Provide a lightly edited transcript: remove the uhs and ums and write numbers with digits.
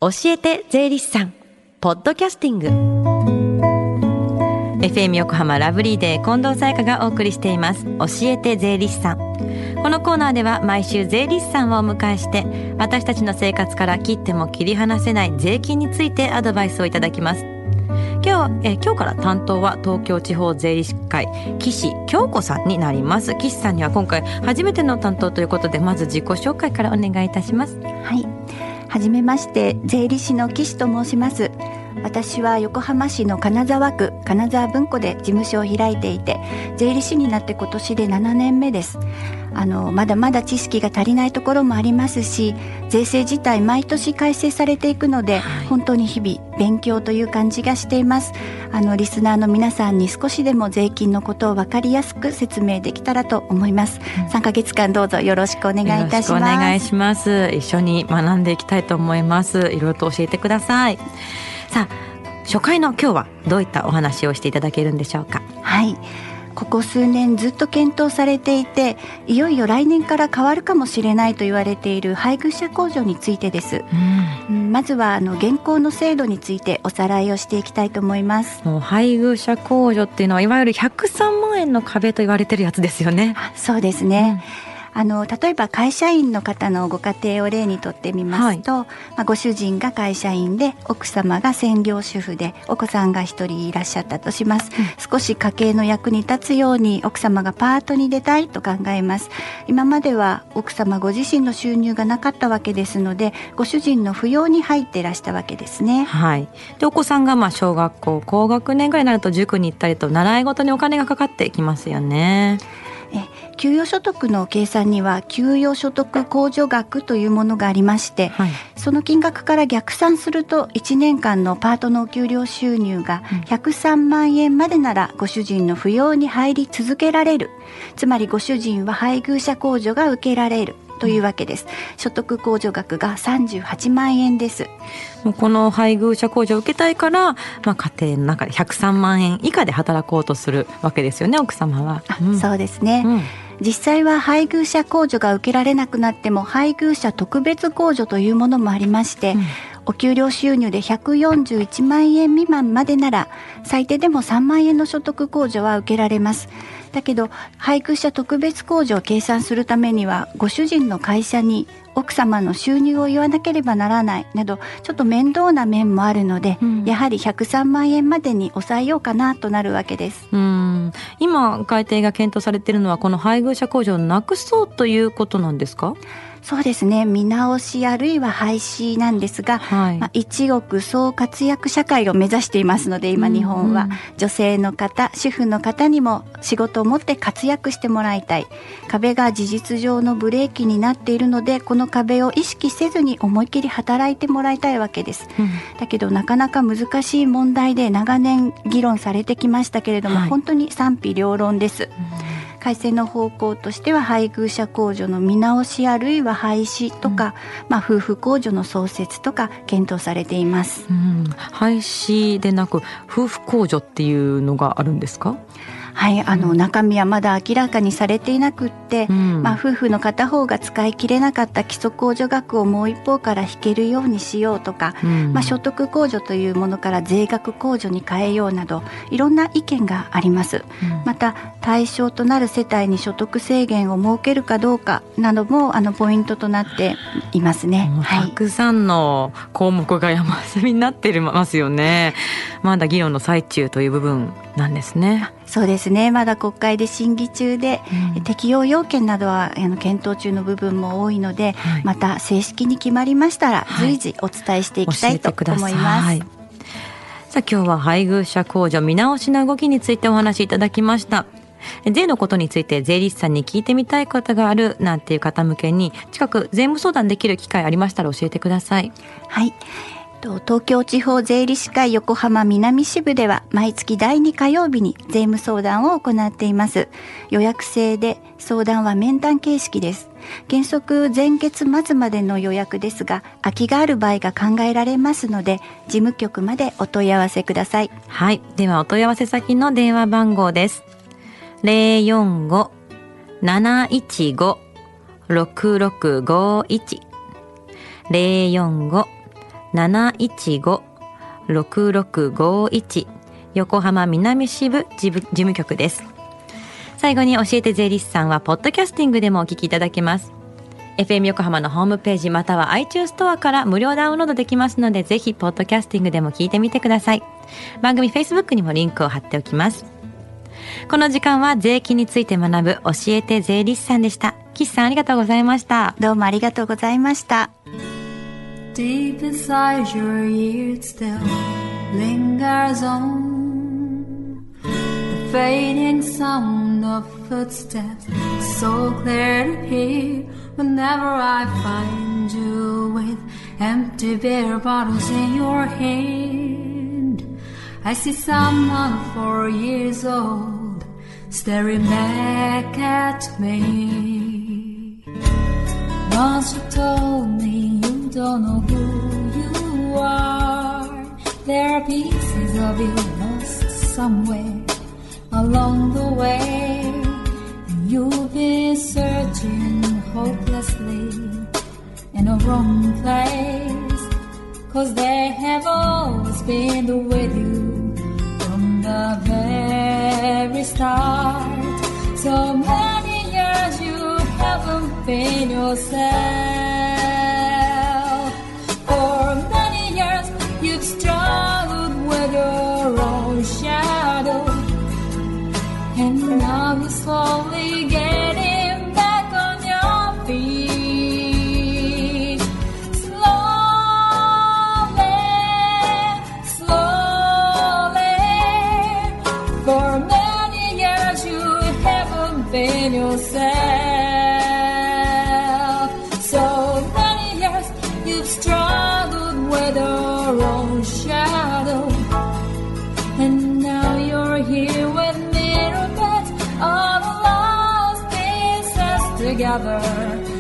教えて税理士さんポッドキャスティング FM 横浜ラブリーデー近藤沙耶香がお送りしています教えて税理士さん。このコーナーでは毎週税理士さんをお迎えして私たちの生活から切っても切り離せない税金についてアドバイスをいただきます。今日から担当は東京地方税理士会岸京子さんになります。岸さんには今回初めての担当ということで、まず自己紹介からお願いいたします。 はい、はじめまして、税理士の岸と申します。私は横浜市の金沢区金沢文庫で事務所を開いていて、税理士になって今年で7年目です。まだまだ知識が足りないところもありますし、税制自体毎年改正されていくので、本当に日々勉強という感じがしています。リスナーの皆さんに少しでも税金のことを分かりやすく説明できたらと思います。3ヶ月間どうぞよろしくお願いいたします。 よろしくお願いします。一緒に学んでいきたいと思います。いろいろと教えてください。さあ、初回の今日はどういったお話をしていただけるんでしょうか。 はい、ここ数年ずっと検討されていて、いよいよ来年から変わるかもしれないと言われている配偶者控除についてです。まずは現行の制度についておさらいをしていきたいと思います。 配偶者控除っていうのはいわゆる103万円の壁と言われてるやつですよね。 そうですね。例えば会社員の方のご家庭を例にとってみますと、ご主人が会社員で奥様が専業主婦でお子さんが一人いらっしゃったとします。少し家計の役に立つように奥様がパートに出たいと考えます。今までは奥様ご自身の収入がなかったわけですので、ご主人の扶養に入っていらしたわけですね。 はい。でお子さんが小学校高学年ぐらいになると塾に行ったりと習い事にお金がかかってきますよね。 給与所得の計算には給与所得控除額というものがありまして、その金額から逆算すると1年間のパートのお給料収入が103万円までならご主人の扶養に入り続けられる。つまりご主人は配偶者控除が受けられるというわけです。所得控除額が38万円です。 この配偶者控除を受けたいから、家庭の中で103万円以下で働こうとするわけですよね、奥様は。 そうですね。実際は配偶者控除が受けられなくなっても配偶者特別控除というものもありまして、お給料収入で141万円未満までなら最低でも3万円の所得控除は受けられます。だけど配偶者特別控除を計算するためにはご主人の会社に奥様の収入を言わなければならないなど、ちょっと面倒な面もあるので、やはり103万円までに抑えようかなとなるわけです。 今改定が検討されているのはこの配偶者控除をなくそうということなんですか？ そうですね、見直しあるいは廃止なんですが、一億総活躍社会を目指していますので、今日本は女性の方、主婦の方にも仕事を持って活躍してもらいたい。壁が事実上のブレーキになっているので、この壁を意識せずに思い切り働いてもらいたいわけです。だけどなかなか難しい問題で長年議論されてきましたけれども、本当に賛否両論です。改正の方向としては配偶者控除の見直しあるいは廃止とか、夫婦控除の創設とか検討されています。 廃止でなく夫婦控除っていうのがあるんですか？ はい、中身はまだ明らかにされていなくって、夫婦の片方が使い切れなかった基礎控除額をもう一方から引けるようにしようとか、所得控除というものから税額控除に変えようなどいろんな意見があります。また対象となる世帯に所得制限を設けるかどうかなどもポイントとなっていますね。 たくさんの項目が山積みになっていますよね。まだ議論の最中という部分なんですね。 そうですね、まだ国会で審議中で、適用要件などは検討中の部分も多いので、また正式に決まりましたら随時お伝えしていきたいと思います。 さあ、今日は配偶者控除見直しの動きについてお話しいただきました。税のことについて税理士さんに聞いてみたいことがあるなんていう方向けに近く税務相談できる機会ありましたら教えてください。 はい、東京地方税理士会横浜南支部では毎月第2火曜日に税務相談を行っています。予約制で相談は面談形式です。原則前月末までの予約ですが、空きがある場合が考えられますので事務局までお問い合わせください。 はい、ではお問い合わせ先の電話番号です。045-715-6651 045 715-6651 横浜南支部事務局です。最後に教えて税理士さんはポッドキャスティングでもお聞きいただけます。FM 横浜のホームページまたは iTunes ストアから無料ダウンロードできますので、ぜひポッドキャスティングでも聞いてみてください。番組 Facebook にもリンクを貼っておきます。この時間は税金について学ぶ教えて税理士さんでした。岸さんありがとうございました。 どうもありがとうございました。 Deep inside your ears still lingers on the fading sound of footsteps, so clear to hear whenever I find you with empty beer bottles in your hand. I see someone 4 years old staring back at me. Once you told me you don't know who you are. There are pieces of you lost somewhere along the way. You've been searching hopelessly in a wrong place, 'cause they have always been with you from the very start. So many years you haven't been yourself. For many years you've struggled with your own shadow, and now you're slowly getting back on your feet. Slowly, slowly. For many years you haven't been yourself. So many years you've struggled with your own shadow, and now you're here with me, all the lost pieces together.